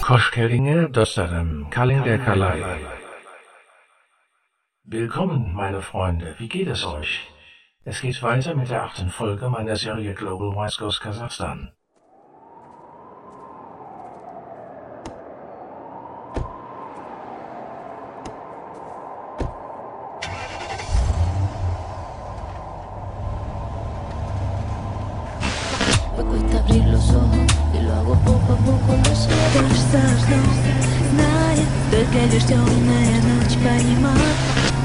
Hoş geldinge dostlarım, kalender kalay. Willkommen, meine Freunde, wie geht es euch? Es geht weiter mit der 8. Folge meiner Serie Global Wise Goes Kasachstan. Me cuesta abrir los ojos y lo hago poco a poco, lo sé. Кажется, что знает, только лишь темная ночь понимает.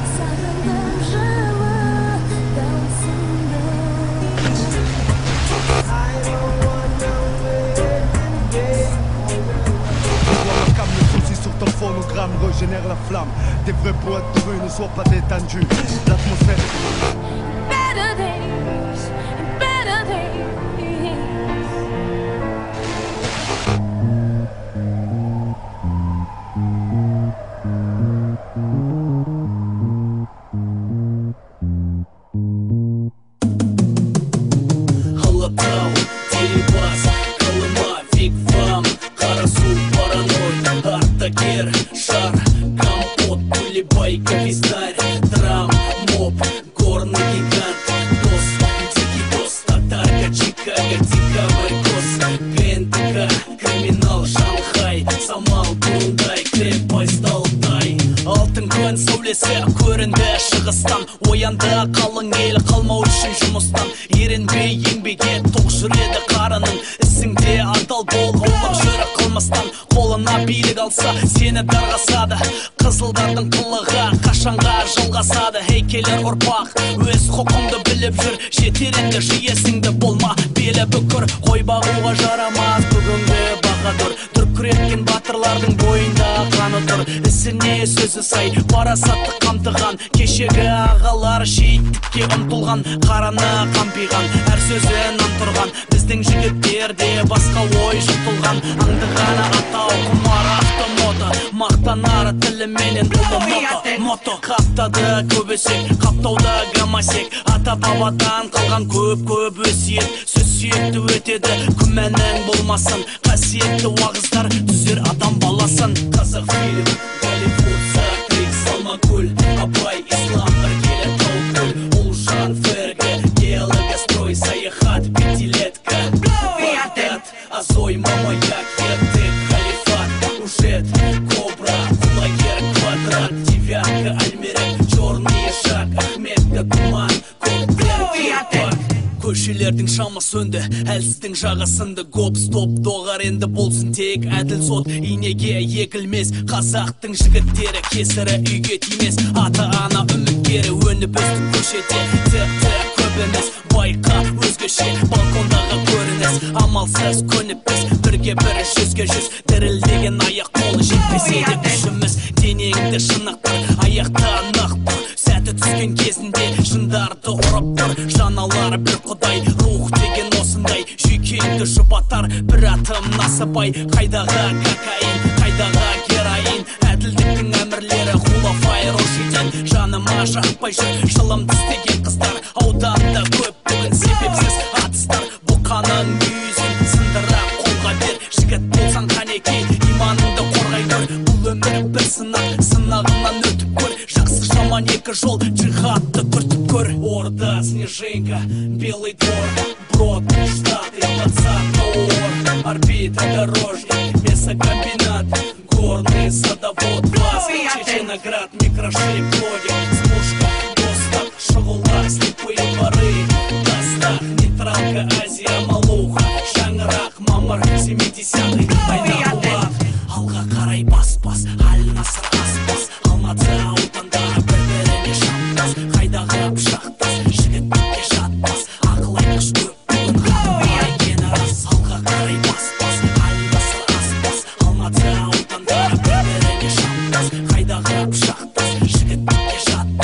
Sur ton phonogramme régénère la flamme. Des vrais poètes heureux ne soient pas détendus. L'atmosphère Better days, better days. Алатау, Дерибас, Колыма, Фигфам, Карасу, Параной, Артакер, Шар, Компот, Кулебай, Кавизнарь, Драм, Моб, Горный гигант, Дос, Дикий Дос, Татарка, Чикаго, Дикавый Кос, КНТК, Криминал, Шанхай, Самал, Бурундай, Крепость, Алтай. Алтын күн сәулесі көрінді шығыстан, оянды қалың ел қалмау үшін жұмыстан. Ерінбей еңбеге тоқ жүреді қарының, ісіңде адал бол, аулақ жүрі қылмастан. Қолына билік алса сені дарғасады, қызылдардың қылығы қашанға жылғасады. Келер ұрпақ өз құқыңды біліп жүр, жетер енді жиесіңді, болма белі бүкір. Қой бағуға жарамас бүгінгі бағадыр, дүркіреткен батырлардың бойында қаны тұр. Ісіне сөзі сай, парасатты қамтыған, кешегі ағалар шейіттікке ұмтылған, қараны қампиған, әр сөзін антұрған. Біздің жігіттер де басқа ой жұтылған, аңдығаны атау құмар автомото, мақтанары тіліменен ұлы мото. Қаптады көбесек, қаптауда гамасек, ата бабадан қалған көп өсиет. Сөз сүйекті өтеді, күмәнің болмасын, қасиетті уағыздар түзер адам баласын. Қазақ фильм, Голливуд, Сатрик, Салмакөл, Абай, Ислам, Іргелі, Таукөл, Ұлжан, Ферге, Геологострой, Саяхат, Пятилетка, Багдад, Азой, Мамаяк, Ертек, Халифат, Ужет, Кобра, Кулагер, Квадрат, Девятка, Альмерек, Черный Шаг, Ахметка, Туман, Коктейл, Кирпак. Көшелердің шамы сөнді, әлсіздің жағасынды. Гоп-стоп доғар енді болсын тек әділ сот, инеге егілмес. Қазақтың жігіттері кесірі үйге тимес. Ата-ана үміткері өніп өстік көшеде, тек көп емес. Байқа өзгеше балкондағы көрініс, амалсыз көніп біз бірге бірі жүзге жүз. Дірілдеген аяқ қолы жетпесе де күшіміз, денеңді шынықтыр, аяқта нақтыр. Сәті түскен кезінде жындарды ұрып тұр, жаналары бір құдай, рух деген осындай. Жүйкеңді жұбатар бір атым насыбай, қайдағы кокаин, қайдағы героин. Әділдіктің әмірлері Хулафай Рошиден, жаныма жақпай жүр жылымды істеген қыздар. Ауданда көп бүгін себепсіз атыстар, бұқаның мүйізін сындыра қолға бер. Жігіт болсаң қанеке, иманыңды қорғай көр. Бұл өмір бір сынақ, сынағынан өтіп көр. Жақсы жаман екі жол, джихадты күртіп көр. Орда, Снежинка, Белый двор, Брод, Штаты, 20-й ор, орбита, дорожник, мясокомбинат, горный садовод, класс, Чеченоград, микрошип, логик, спушка, доступ, шагулар, слепые дворы, Дастах, нейтралка, Азия, Малуха, Шаңырақ, мамыр, 70-й, Айнабулат. Алға қарай бас-бас, Аль-Насыр аспас, Алматы аудандары бір-біріне шампас, қайдағы пышақтас, жігітке жатпас, ақыл айтқыш көп бүгін қалай кені рас. Алға қарай бас-бас, Аль-Насыр аспас, Алматы аудандары бір-біріне шампас, қайдағы пышақтас, жігітке жатпас.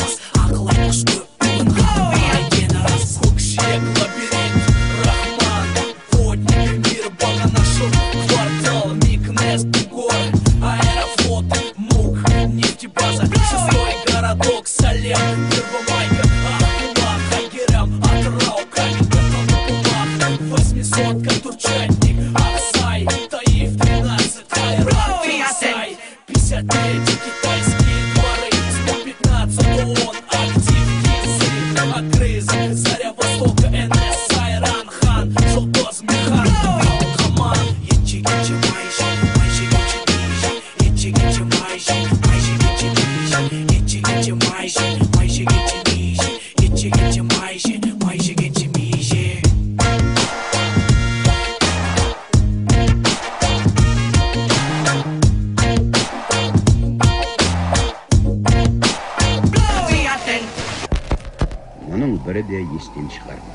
de esten chiqarmadi.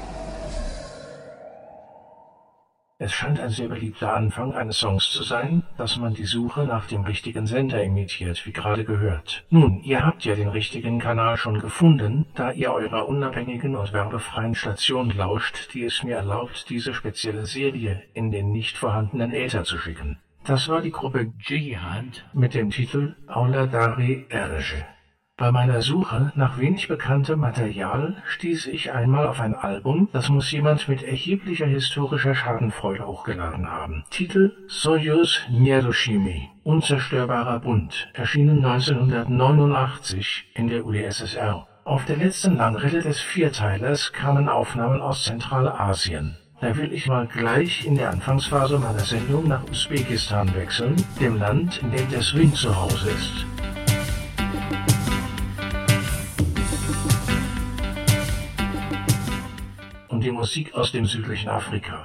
Es scheint ein sehr beliebter Anfang eines Songs zu sein, dass man die Suche nach dem richtigen Sender imitiert, wie gerade gehört. Nun, ihr habt ja den richtigen Kanal schon gefunden, da ihr eurer unabhängigen und werbefreien Station lauscht, die es mir erlaubt, diese spezielle Serie in den nicht vorhandenen Äther zu schicken. Das war die Gruppe Jihad mit dem Titel Aula Dari Erge. Bei meiner Suche nach wenig bekanntem Material stieß ich einmal auf ein Album, das muss jemand mit erheblicher historischer Schadenfreude hochgeladen haben. Titel Soyuz Nierushimi, Unzerstörbarer Bund, erschienen 1989 in der UdSSR. Auf der letzten Langrede des Vierteilers kamen Aufnahmen aus Zentralasien. Da will ich mal gleich in der Anfangsphase meiner Sendung nach Usbekistan wechseln, dem Land, in dem der Swing zu Hause ist. Die Musik aus dem südlichen Afrika.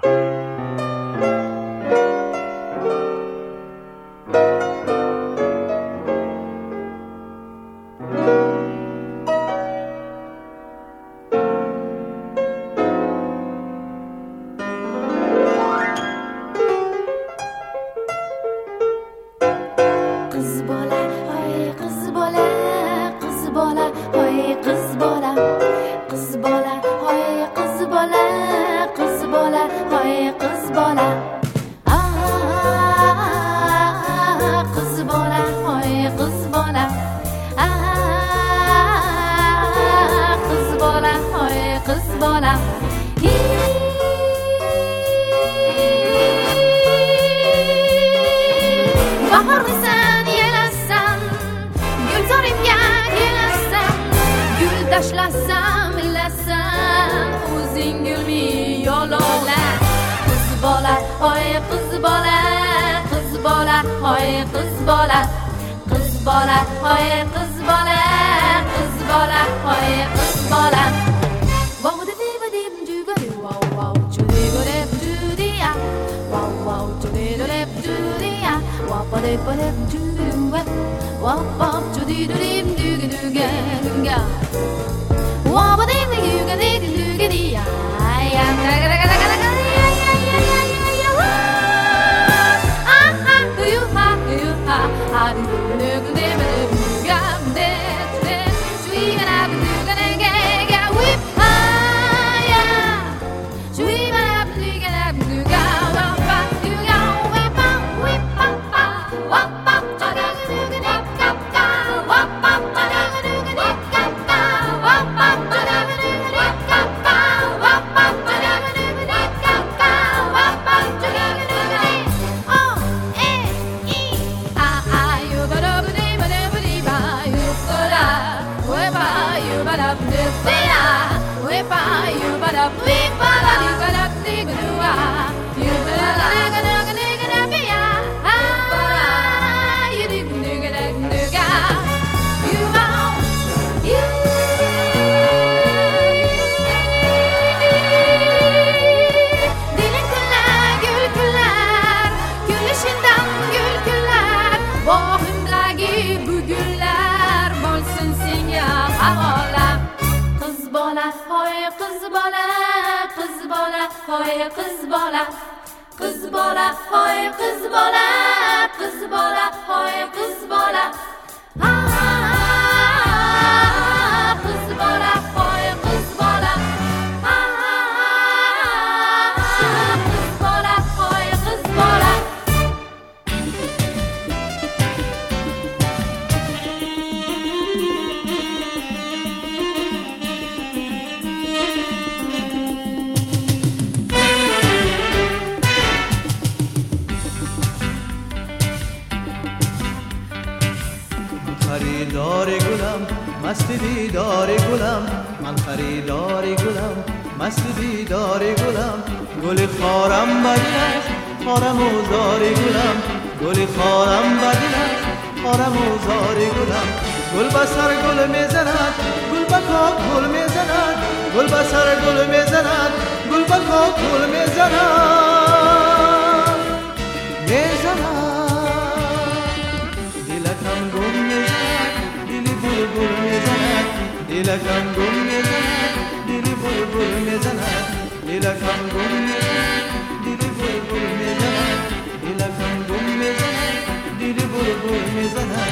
دلکم گم میزند دلی بلبل میزند دلکم گم میزند دل بلبل میزند دلکم گم میزند دل بلبل میزند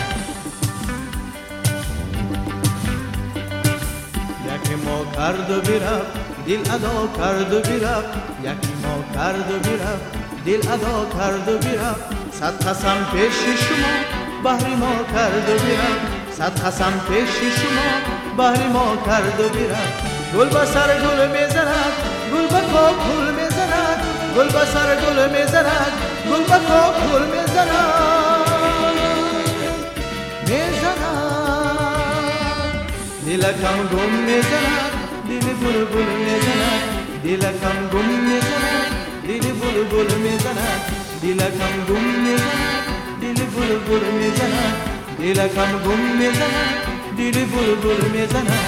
یکی ما کرد و برفت دل ادا کرد و برفت یکی ما کرد و برفت دل ادا کرد و برفت صد قسم پیش شما بهر ما کرد و برفت صد قسم پیش شما بهر ما کرد و برفت گل به سر گل میزند گل به کاک گل میزند گل به سر گل میزند گل به کاک گل میزند دلکم گم میزند دل بلبل میزند دلکم گم میزند دل بلبل میزند دلکم گم میزند دل بلبل میزند دلکم گم میزند دل بلبل میزند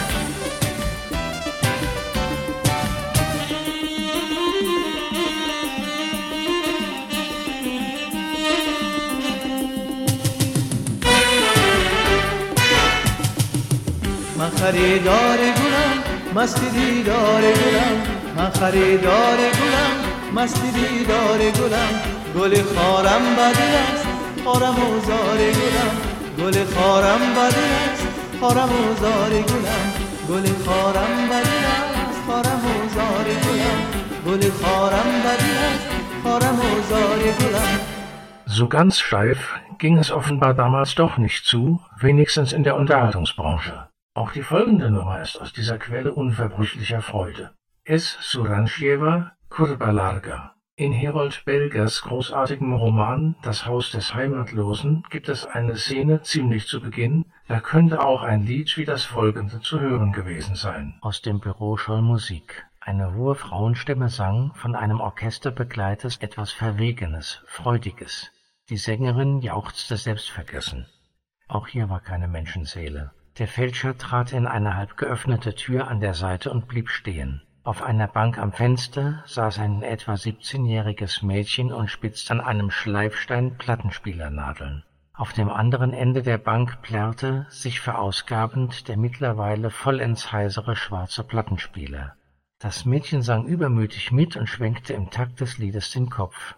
من خریدار گلم مست دیدار گلم من خریدار گلم مست دیدار گلم گل خارم بدل است خارم و زار گلم گل خارم بدل است خارم و زار گلم گل خارم بدل است خارم و زار گلم گل خارم بدل است خارم و زار گلم. So ganz steif ging es offenbar damals doch nicht zu, wenigstens in der Unterhaltungsbranche. Auch die folgende Nummer ist aus dieser Quelle unverbrüchlicher Freude. S. Suranjeva, Kurba Larga. In Herold Belgers großartigem Roman Das Haus des Heimatlosen gibt es eine Szene ziemlich zu Beginn, da könnte auch ein Lied wie das folgende zu hören gewesen sein. Aus dem Büro scholl Musik. Eine hohe Frauenstimme sang, von einem Orchester begleitet, etwas Verwegenes, Freudiges. Die Sängerin jauchzte selbstvergessen. Auch hier war keine Menschenseele. Der Fälscher trat in eine halb geöffnete Tür an der Seite und blieb stehen. Auf einer Bank am Fenster saß ein etwa 17-jähriges Mädchen und spitzte an einem Schleifstein Plattenspielernadeln. Auf dem anderen Ende der Bank plärrte, sich verausgabend, der mittlerweile vollends heisere schwarze Plattenspieler. Das Mädchen sang übermütig mit und schwenkte im Takt des Liedes den Kopf.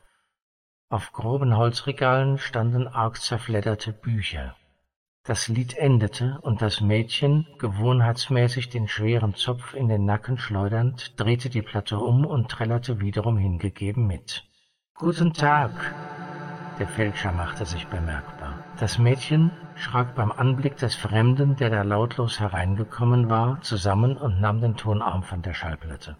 Auf groben Holzregalen standen arg zerfledderte Bücher. Das Lied endete und das Mädchen, gewohnheitsmäßig den schweren Zopf in den Nacken schleudernd, drehte die Platte um und trällerte wiederum hingegeben mit. »Guten Tag!« Der Fälscher machte sich bemerkbar. Das Mädchen schrak beim Anblick des Fremden, der da lautlos hereingekommen war, zusammen und nahm den Tonarm von der Schallplatte.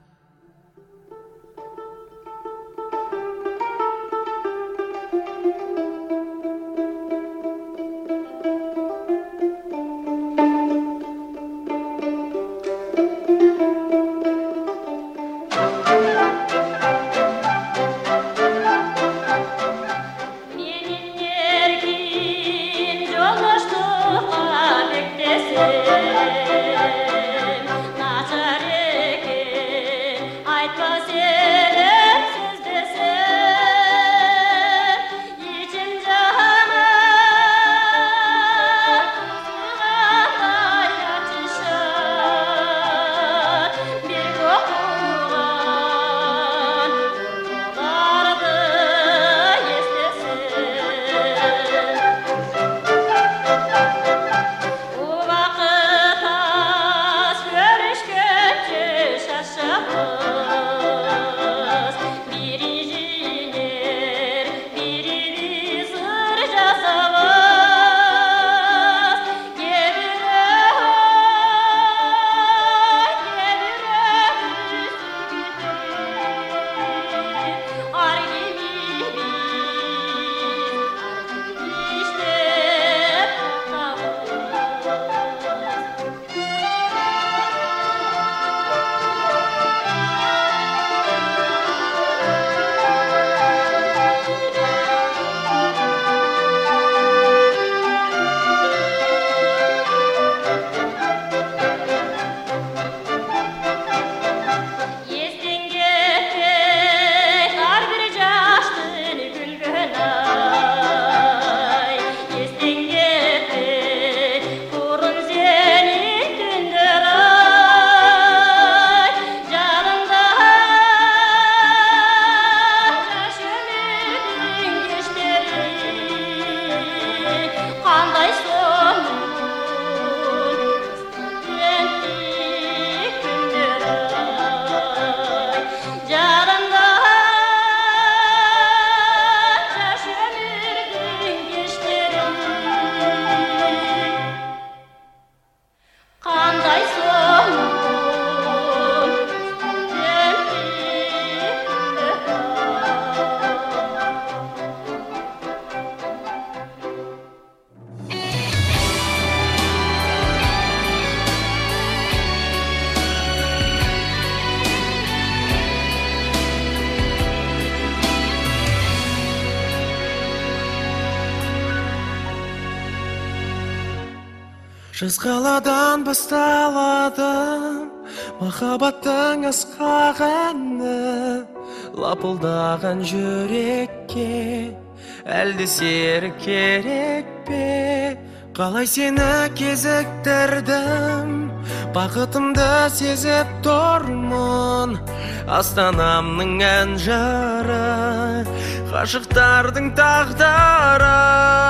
Жаз қаладан басталады махаббаттың асқағаны, лапылдаған жүрекке әлде серік керек пе? Қалай сені кезіктірдім, бақытымды сезіп тұрмын. Астанамның ән жары, ғашықтардың тағдыры.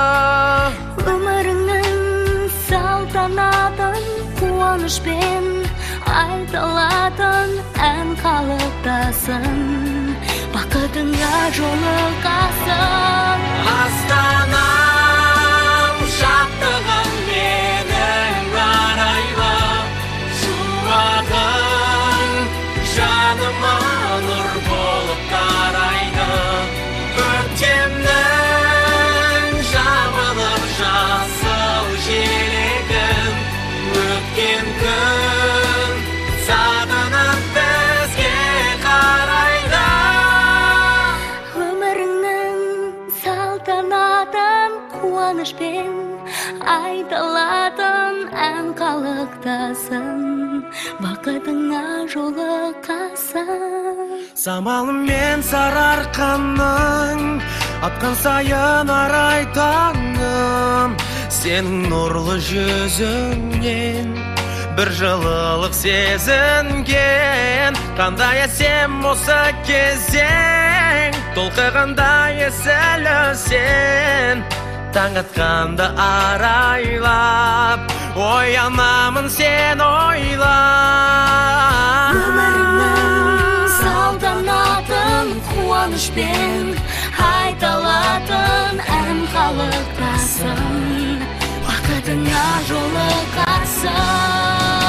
Өміріңнің салтанатын қуанышпен айтылатын ән қалыптасын, бақытыңа жолығасың. Астанам, шаттығым менің арайлы, шуағың жаныма нұр болып қарайды. Көктемнің жабылып жасыл желегін, өткен күн сағынып бізге қарайды. Өміріңнің салтанатын қуанышпен айтылатын ән қалықтасын, бақытыңа жолығасың. Самалымен сарыарқаның атқан сайын арай таңым, сенің нұрлы жүзіңнен бір жылылық сезінген. Қандай әсем осы кезең, толқығандай есілі сен. Таң атқанда арайлап, оянамын сен ойлап. Өміріңнің салтанатын қуанышпен айтылатын ән қалықтасын, бақытыңа жолығасың.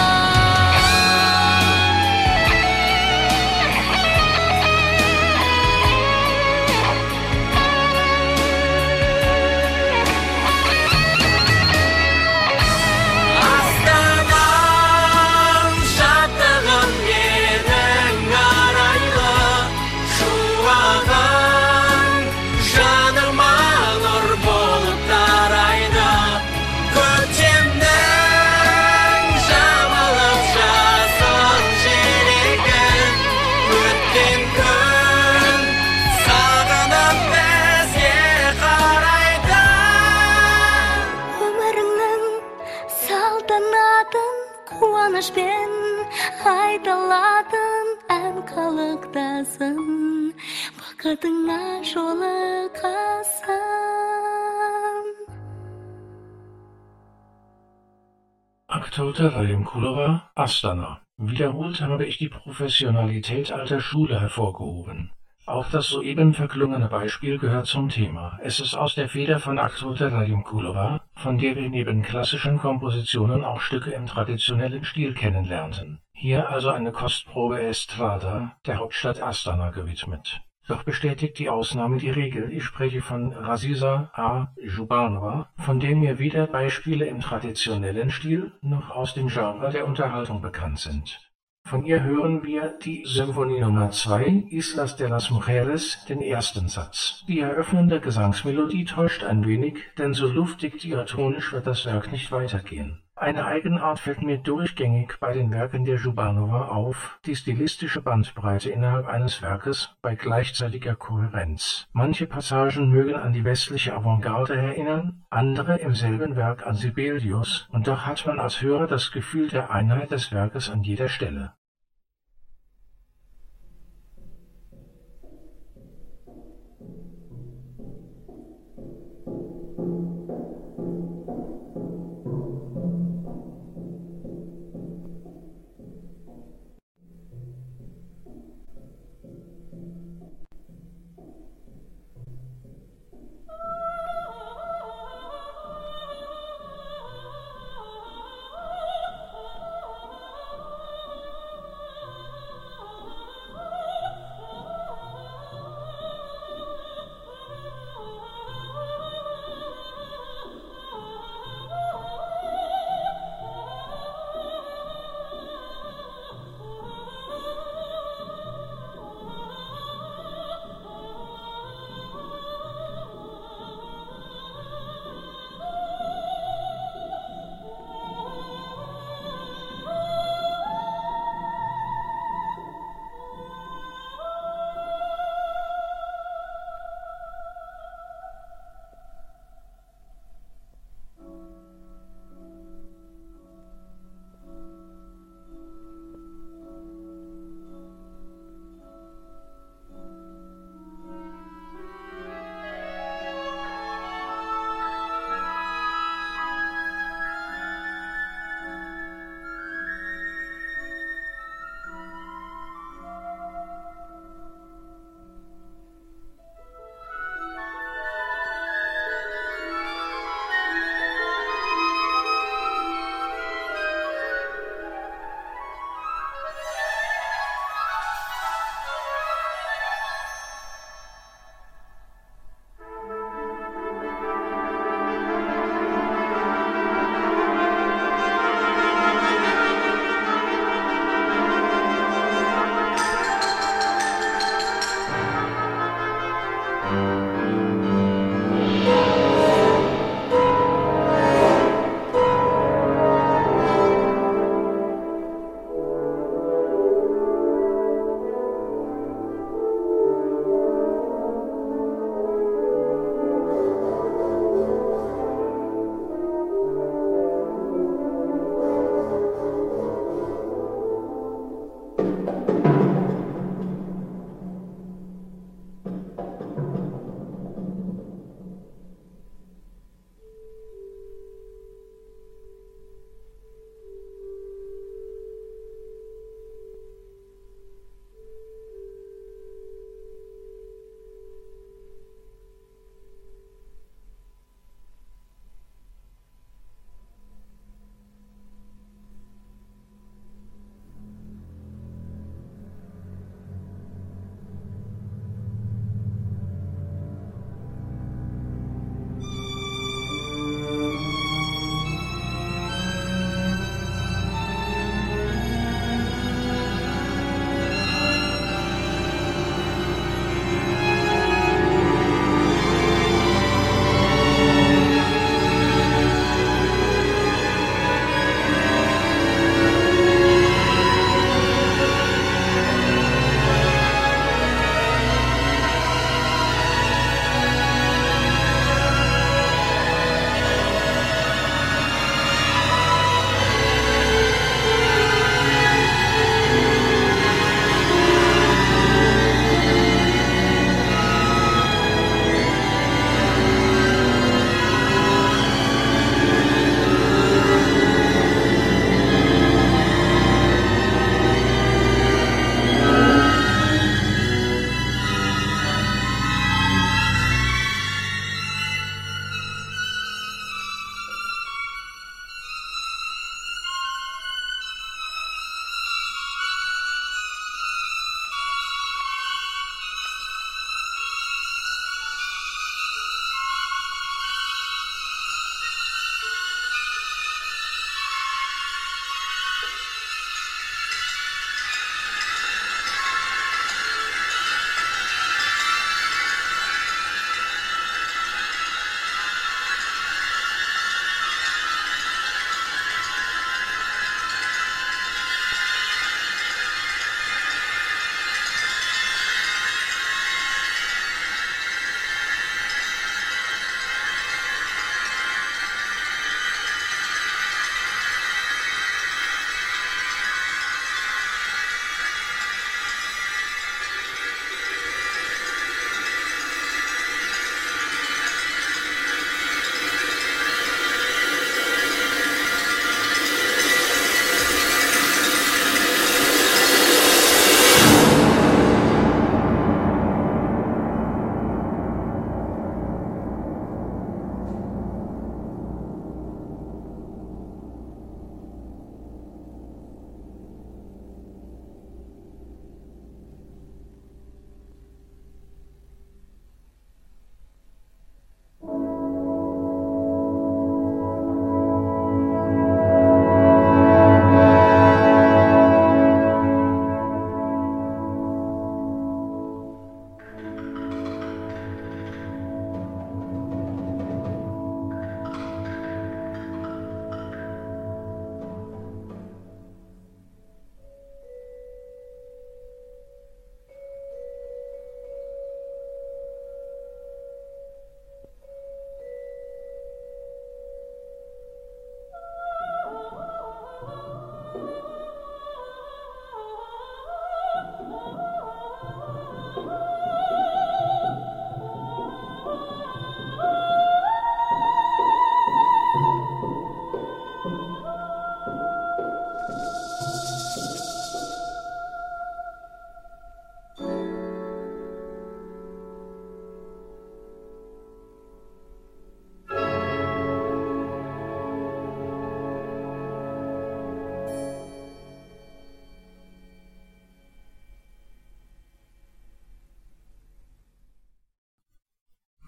Қуанышпен айтылатын ән қалықтасын, бақытыңа жолығасың. Aktote Radim-Kulova, Astana. Wiederholt habe ich die Professionalität alter Schule hervorgehoben. Auch das soeben verklungene Beispiel gehört zum Thema. Es ist aus der Feder von Aktote Radim-Kulova, von der wir neben klassischen Kompositionen auch Stücke im traditionellen Stil kennenlernten. Hier also eine Kostprobe Estrada, der Hauptstadt Astana, gewidmet. Doch bestätigt die Ausnahme die Regel. Ich spreche von Raziza A. Zhubanova, von dem mir weder Beispiele im traditionellen Stil noch aus dem Genre der Unterhaltung bekannt sind. Von ihr hören wir die Symphonie Nummer 2, Islas de las Mujeres, den ersten Satz. Die eröffnende Gesangsmelodie täuscht ein wenig, denn so luftig diatonisch wird das Werk nicht weitergehen. Eine Eigenart fällt mir durchgängig bei den Werken der Zhubanova auf, die stilistische Bandbreite innerhalb eines Werkes bei gleichzeitiger Kohärenz. Manche Passagen mögen an die westliche Avantgarde erinnern, andere im selben Werk an Sibelius, und doch hat man als Hörer das Gefühl der Einheit des Werkes an jeder Stelle.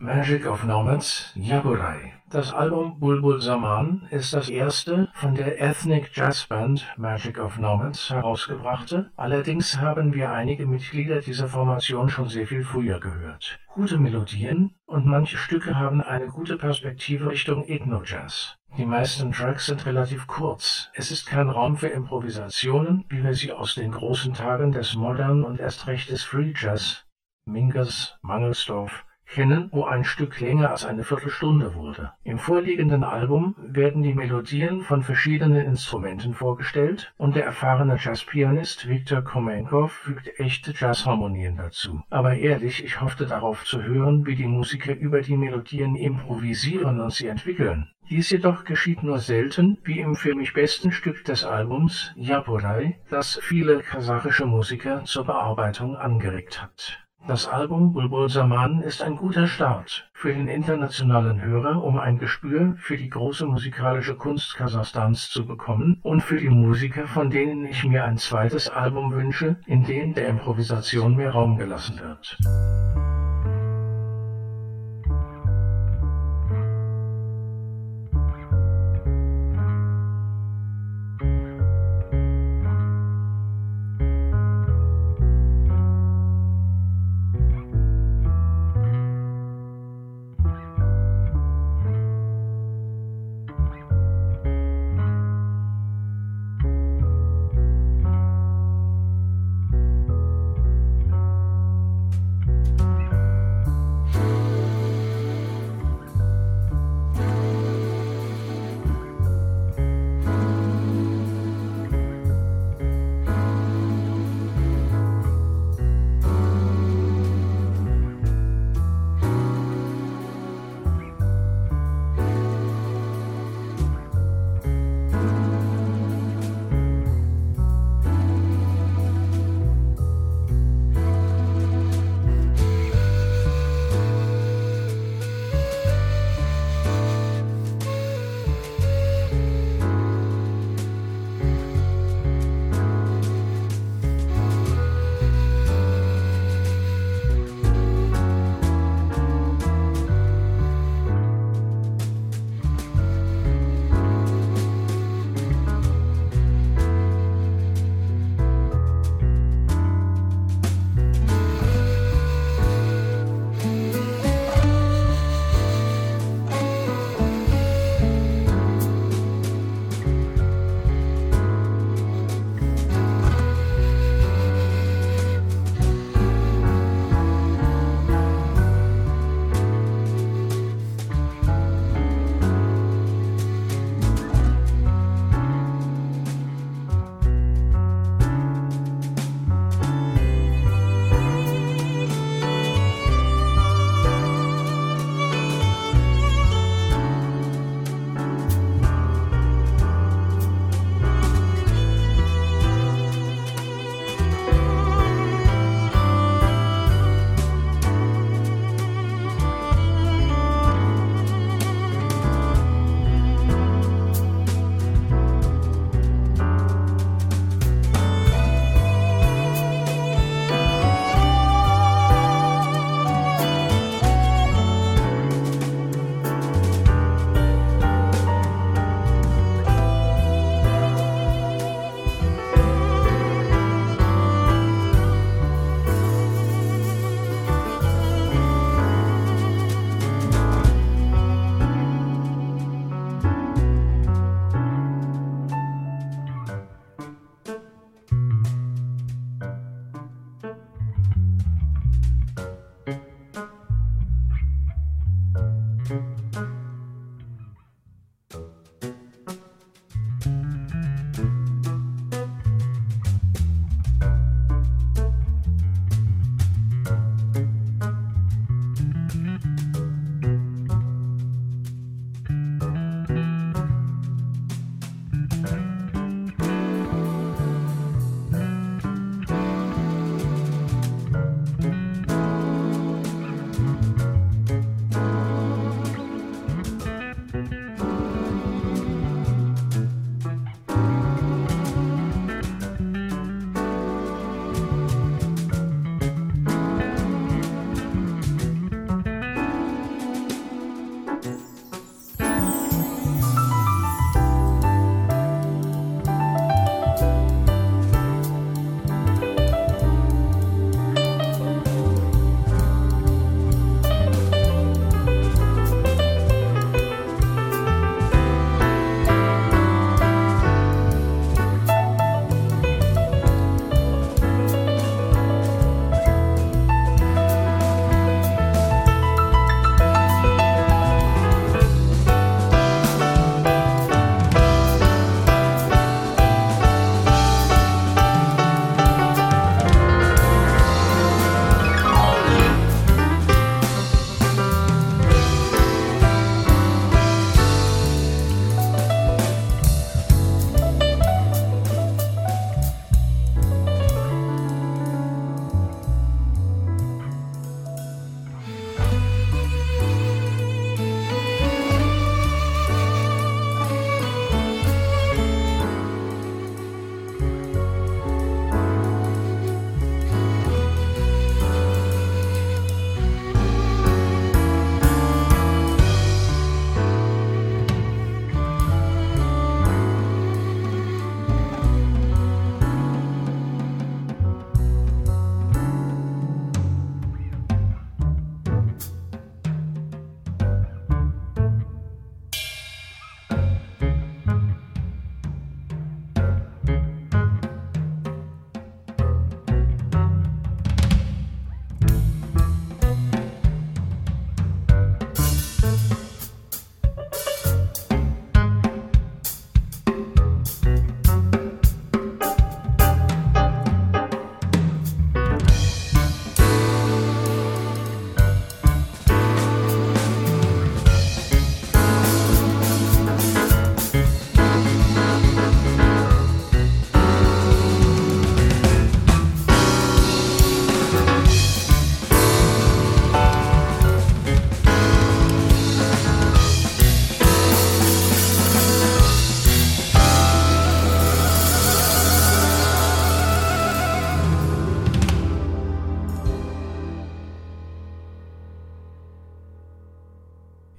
Magic of Nomads, Yaburai. Das Album Bulbul Zaman ist das erste von der Ethnic Jazz Band Magic of Nomads herausgebrachte. Allerdings haben wir einige Mitglieder dieser Formation schon sehr viel früher gehört. Gute Melodien und manche Stücke haben eine gute Perspektive Richtung Ethno-Jazz. Die meisten Tracks sind relativ kurz. Es ist kein Raum für Improvisationen, wie wir sie aus den großen Tagen des Modern und erst recht des Free Jazz, Mingus, Mangelsdorf, kennen, wo ein Stück länger als eine Viertelstunde wurde. Im vorliegenden Album werden die Melodien von verschiedenen Instrumenten vorgestellt und der erfahrene Jazzpianist Viktor Komenkov fügt echte Jazzharmonien dazu. Aber ehrlich, ich hoffte darauf zu hören, wie die Musiker über die Melodien improvisieren und sie entwickeln. Dies jedoch geschieht nur selten, wie im für mich besten Stück des Albums, Yaburai, das viele kasachische Musiker zur Bearbeitung angeregt hat. Das Album Bulbul Zaman ist ein guter Start für den internationalen Hörer, um ein Gespür für die große musikalische Kunst Kasachstans zu bekommen und für die Musiker, von denen ich mir ein zweites Album wünsche, in dem der Improvisation mehr Raum gelassen wird.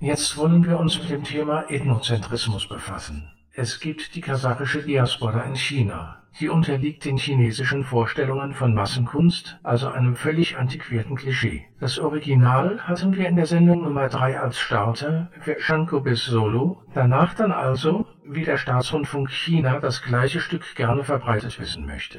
Jetzt wollen wir uns mit dem Thema Ethnozentrismus befassen. Es gibt die kasachische Diaspora in China. Sie unterliegt den chinesischen Vorstellungen von Massenkunst, also einem völlig antiquierten Klischee. Das Original hatten wir in der Sendung Nummer 3 als Starter für Shanko bis Solo, danach dann also, wie der Staatsrundfunk China das gleiche Stück gerne verbreitet wissen möchte.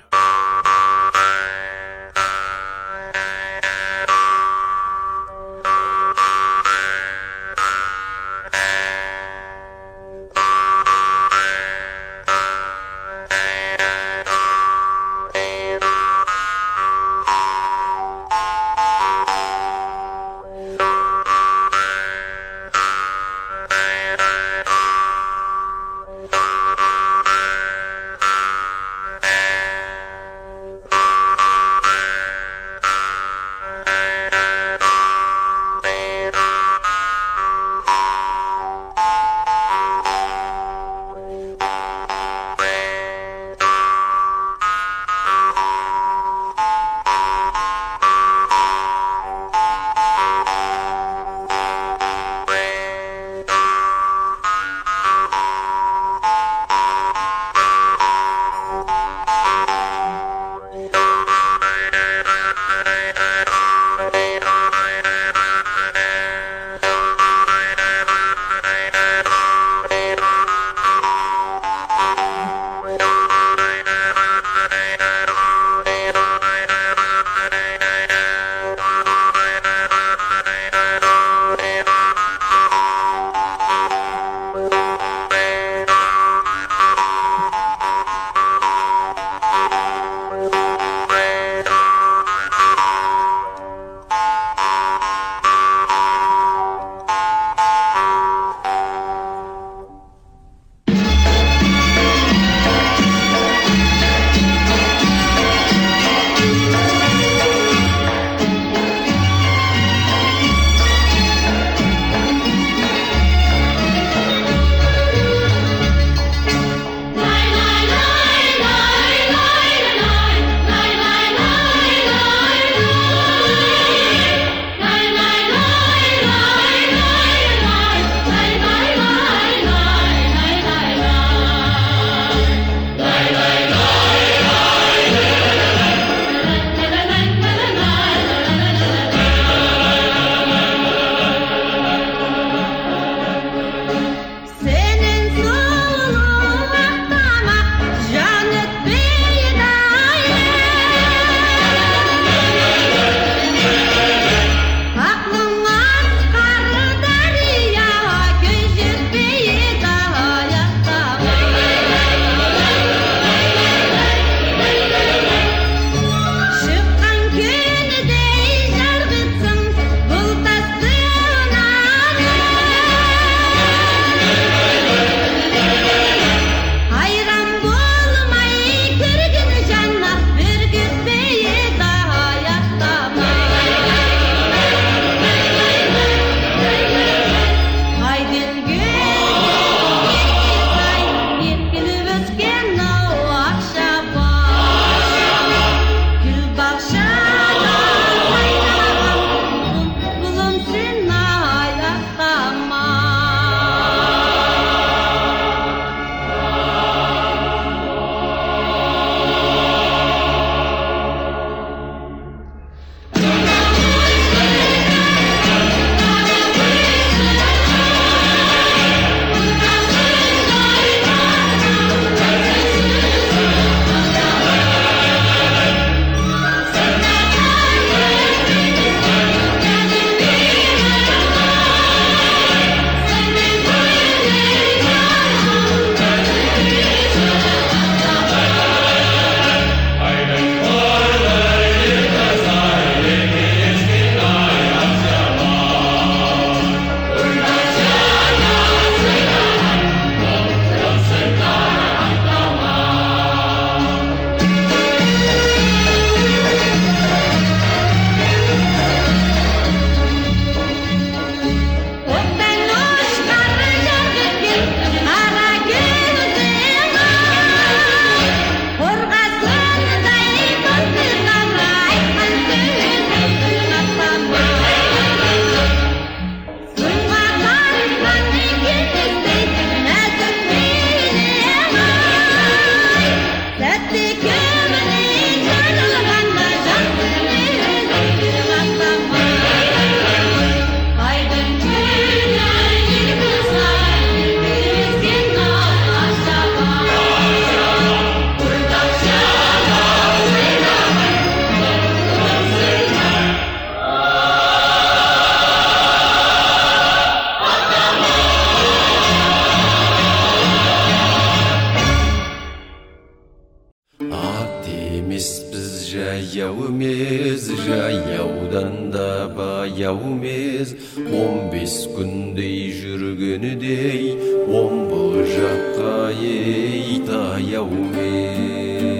баяу емес 15 күндей жүргенідей омбы жаққа ей таяу емес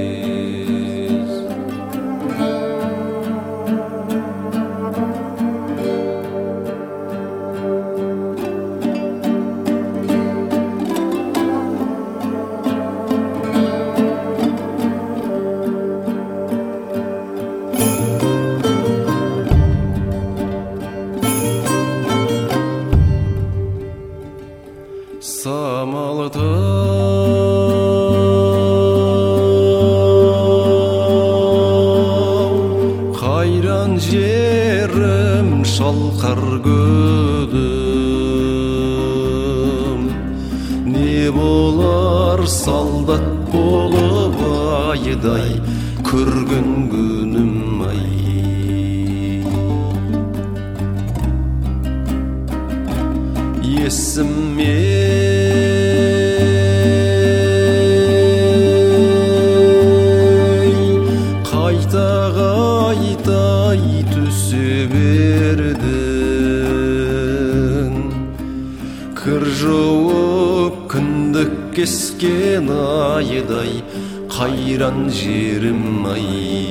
қайран жерім шалқар көдім не болар солдат болып айдай көрген күнім ай есіме қайта түсе бердің кір жауып күндік кескен айдай қайран жерім ай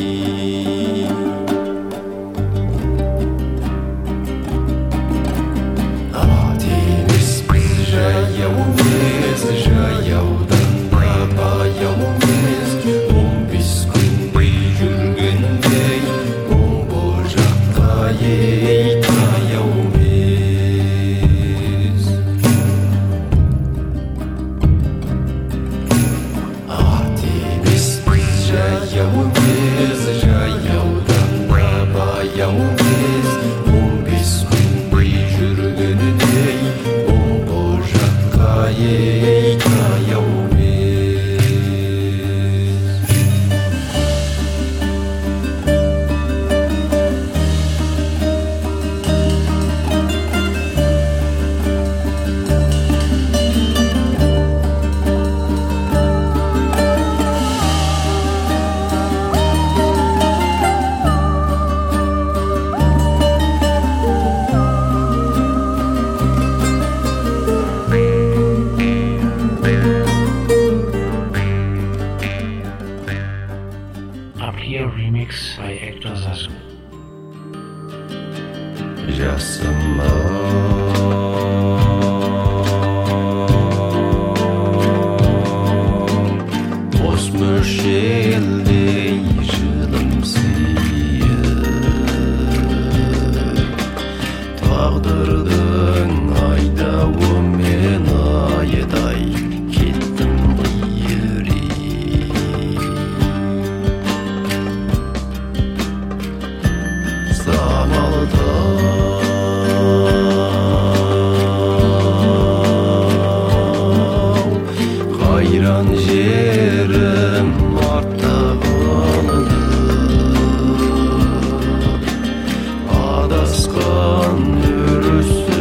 ат емеспіз жаяу емес жаяудан да баяу емес 15 күндей жүргендей омбы жаққа ей таяу емес ат емеспіз жаяу емес жаяудан да баяу емес 15 күндей жүргенідей омбы жаққа ей таяу Ab hier Remix bei Hector Sasu. жасыма бос мөлшердей жылымсиып тағдырдың айдауымен айдай кеттім қиырып самалда қайран жерім артта қалды адасқан өрісі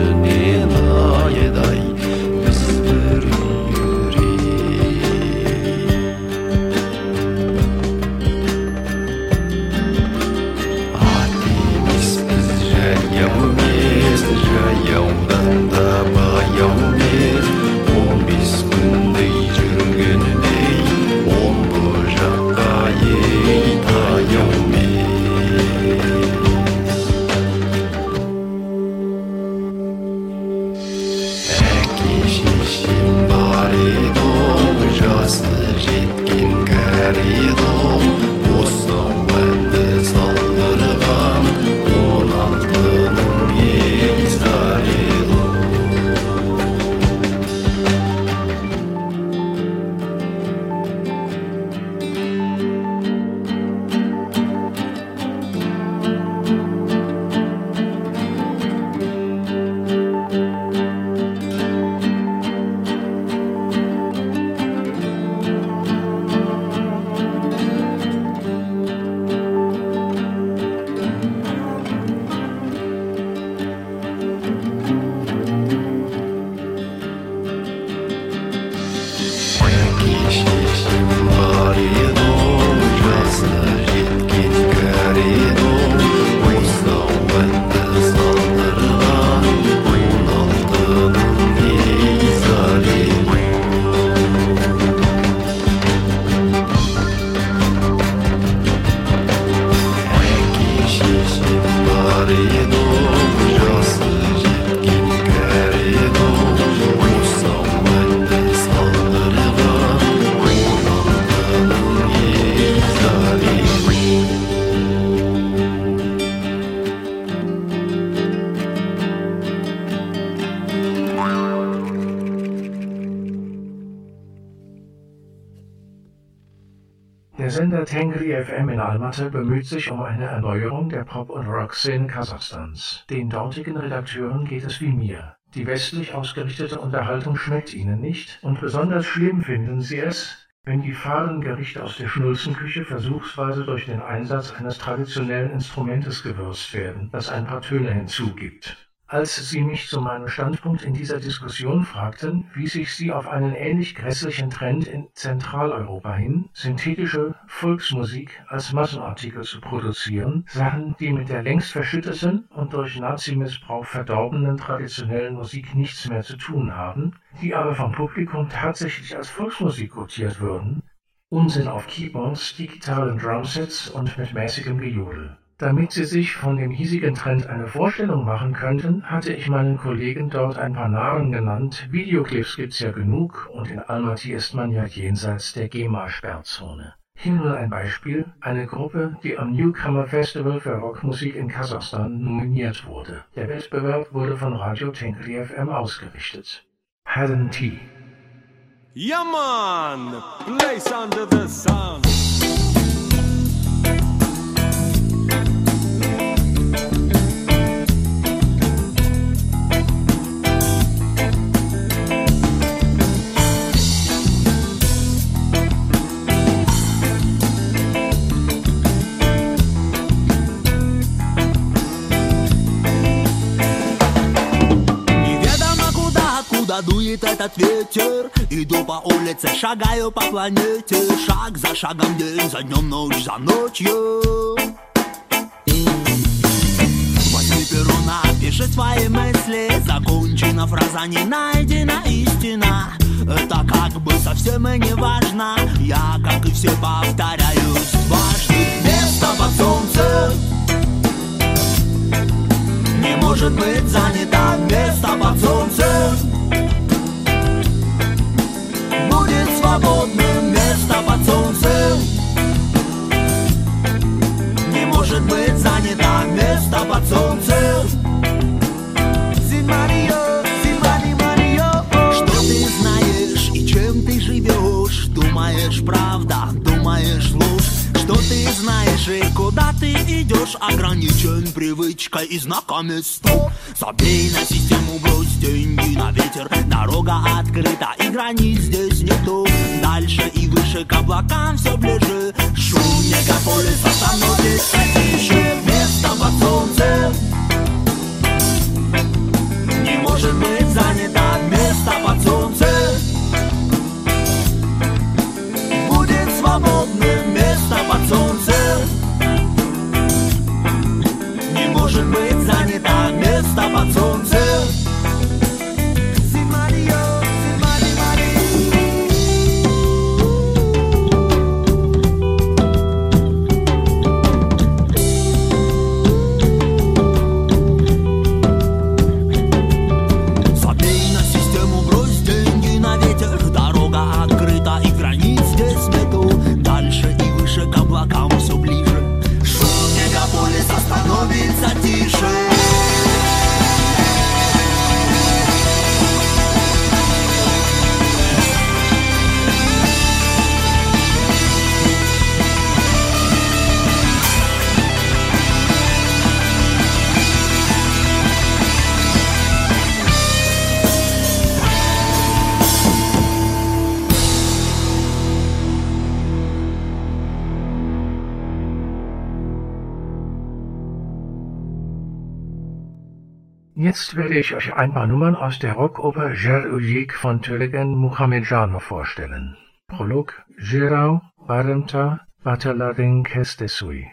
Sender Tengri FM in Almaty bemüht sich um eine Erneuerung der Pop- und Rock-Szene Kasachstans. Den dortigen Redakteuren geht es wie mir. Die westlich ausgerichtete Unterhaltung schmeckt ihnen nicht und besonders schlimm finden sie es, wenn die fahlen Gerichte aus der Schnulzenküche versuchsweise durch den Einsatz eines traditionellen Instrumentes gewürzt werden, das ein paar Töne hinzugibt. Als Sie mich zu meinem Standpunkt in dieser Diskussion fragten, wies ich Sie auf einen ähnlich grässlichen Trend in Zentraleuropa hin, synthetische Volksmusik als Massenartikel zu produzieren, Sachen, die mit der längst verschütteten und durch Nazimissbrauch verdorbenen traditionellen Musik nichts mehr zu tun haben, die aber vom Publikum tatsächlich als Volksmusik quotiert würden, Unsinn auf Keyboards, digitalen Drumsets und mit mäßigem Gejodel. Damit Sie sich von dem hiesigen Trend eine Vorstellung machen könnten, hatte ich meinen Kollegen dort ein paar Namen genannt. Videoclips gibt's ja genug und in Almaty ist man ja jenseits der GEMA-Sperrzone. Hier nur ein Beispiel, eine Gruppe, die am Newcomer Festival für Rockmusik in Kasachstan nominiert wurde. Der Wettbewerb wurde von Radio Tengri FM ausgerichtet. Hadden Tea. Yeah man, place under the sun. Дует этот ветер, иду по улице, шагаю по планете, шаг за шагом, день за днем, ночь за ночью. Возьми перо, напиши свои мысли, закончена фраза, не найдена истина. Это как бы совсем и не важно, я, как и все, повторяюсь дважды. Место под солнцем не может быть занято, место под солнцем будет свободным, место под солнцем не может быть занято, место под солнцем. Что ты знаешь и чем ты живешь? Думаешь правда, думаешь ложь? Что ты знаешь и куда ты идешь? Ограничен привычкой и знаками стоп. Забей на систему, брось деньги на ветер. Дорога открыта и границ здесь нету. Дальше и выше к облакам все ближе. Шум мегаполиса становится тише. Место под солнцем не может быть занято. Место под солнцем будет свободным. Место под солнцем не может быть занято. Место под солнцем. Становится тише. Jetzt werde ich euch ein paar Nummern aus der Rockoper Jer-Ujik von Tölegin Muhamedjanov vorstellen. Prolog Jirau Baremta Batalarin Kestesui.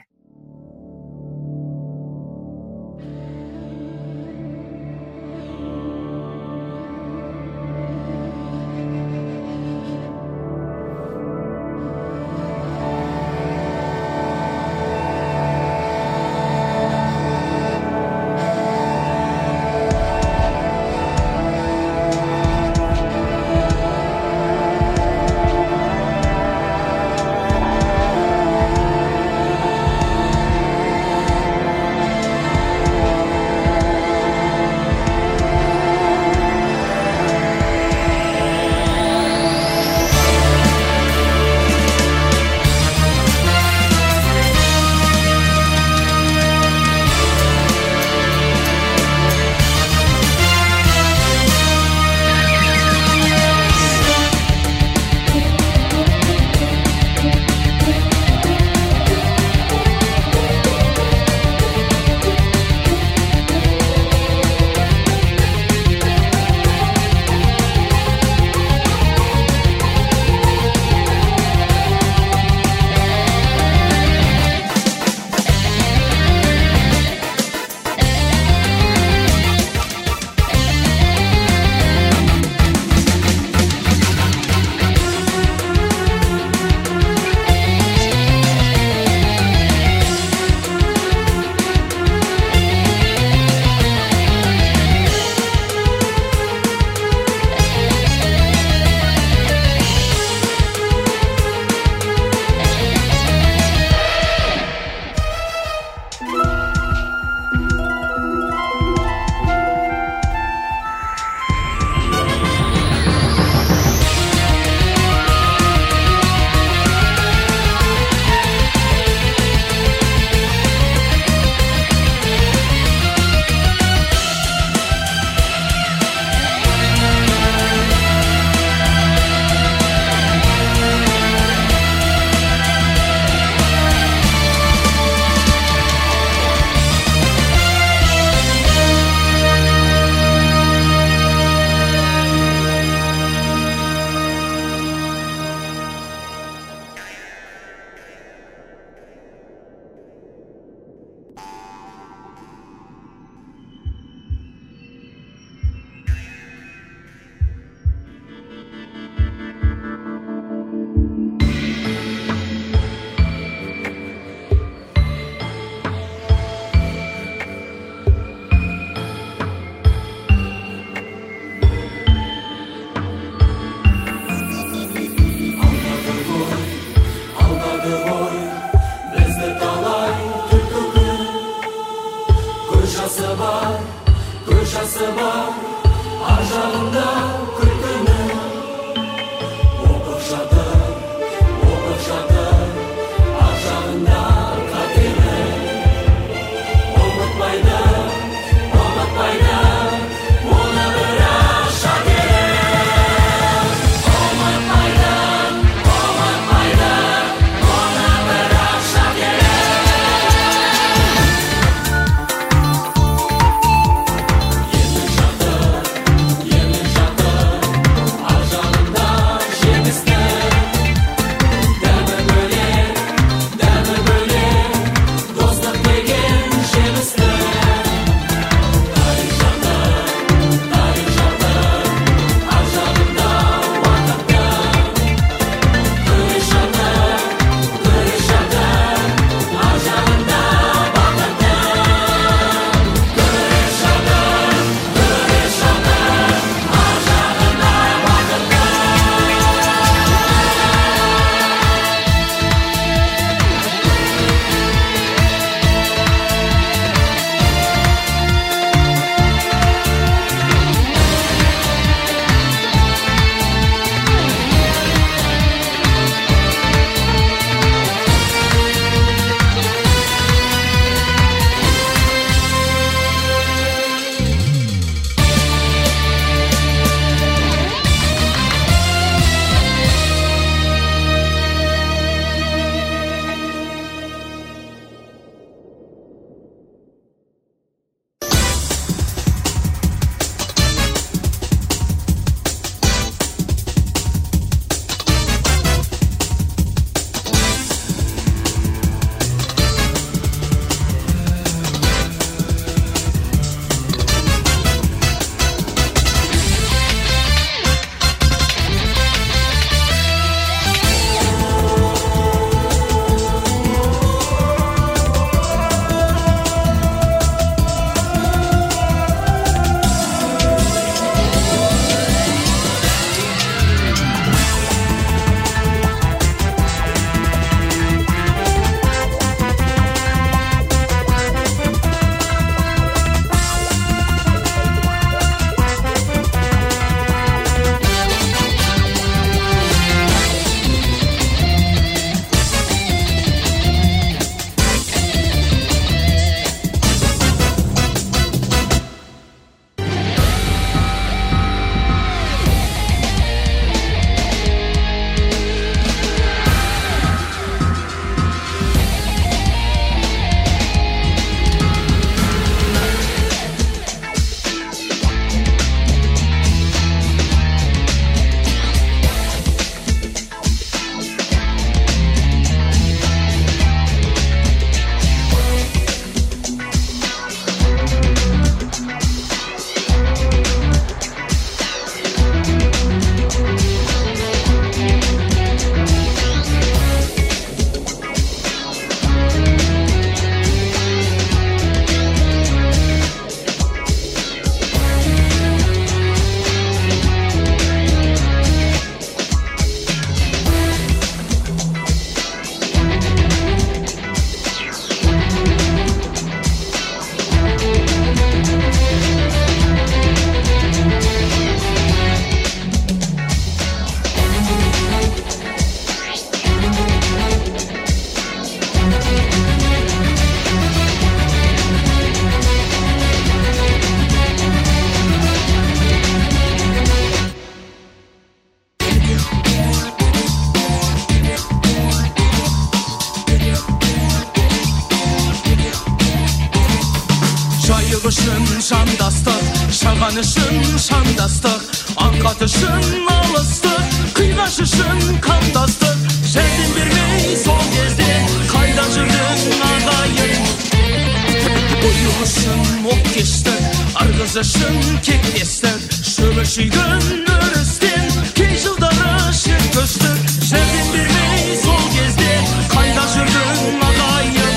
көз жасы бар ар жағында күлкінің. Оқып жатыр ар жағында қатені. Ұмытпайды оны бірақ шагерім. Ұмытпайды оны бірақ шагерім. Емін жатыр ар жағында жемістің. Дәмі бөлек достық деген жемістің. Тарих жатыр ар жағында уақыттың. Күрес жатыр ар жағында бақыттың. Күрес жатыр ар жағында бақыттың. үшін жандастық, шаған үшін шандастық, аңқат үшін алыстық, қиғаш үшін қандастық. Жәрдем бермей сол кезде қайда жүрдің ағайын? Ойыл үшін оқ-кештік, арғыз үшін кектестік, шөбі шүйгін өрістен кей жылдары шет көштік. Жәрдем бермей сол кезде қайда жүрдің ағайын?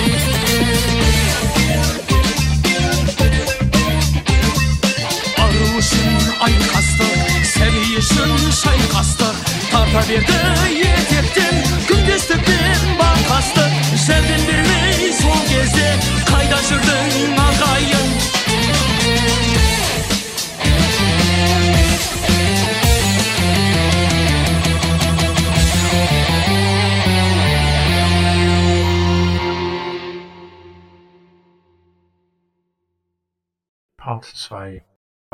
Ару үшін айқастық, сәби үшін шайқастық, тарта берді етектен күндестік пен бақастық. Жәрдем бермей сол кезде қайда жүрдің ағайын? Part 2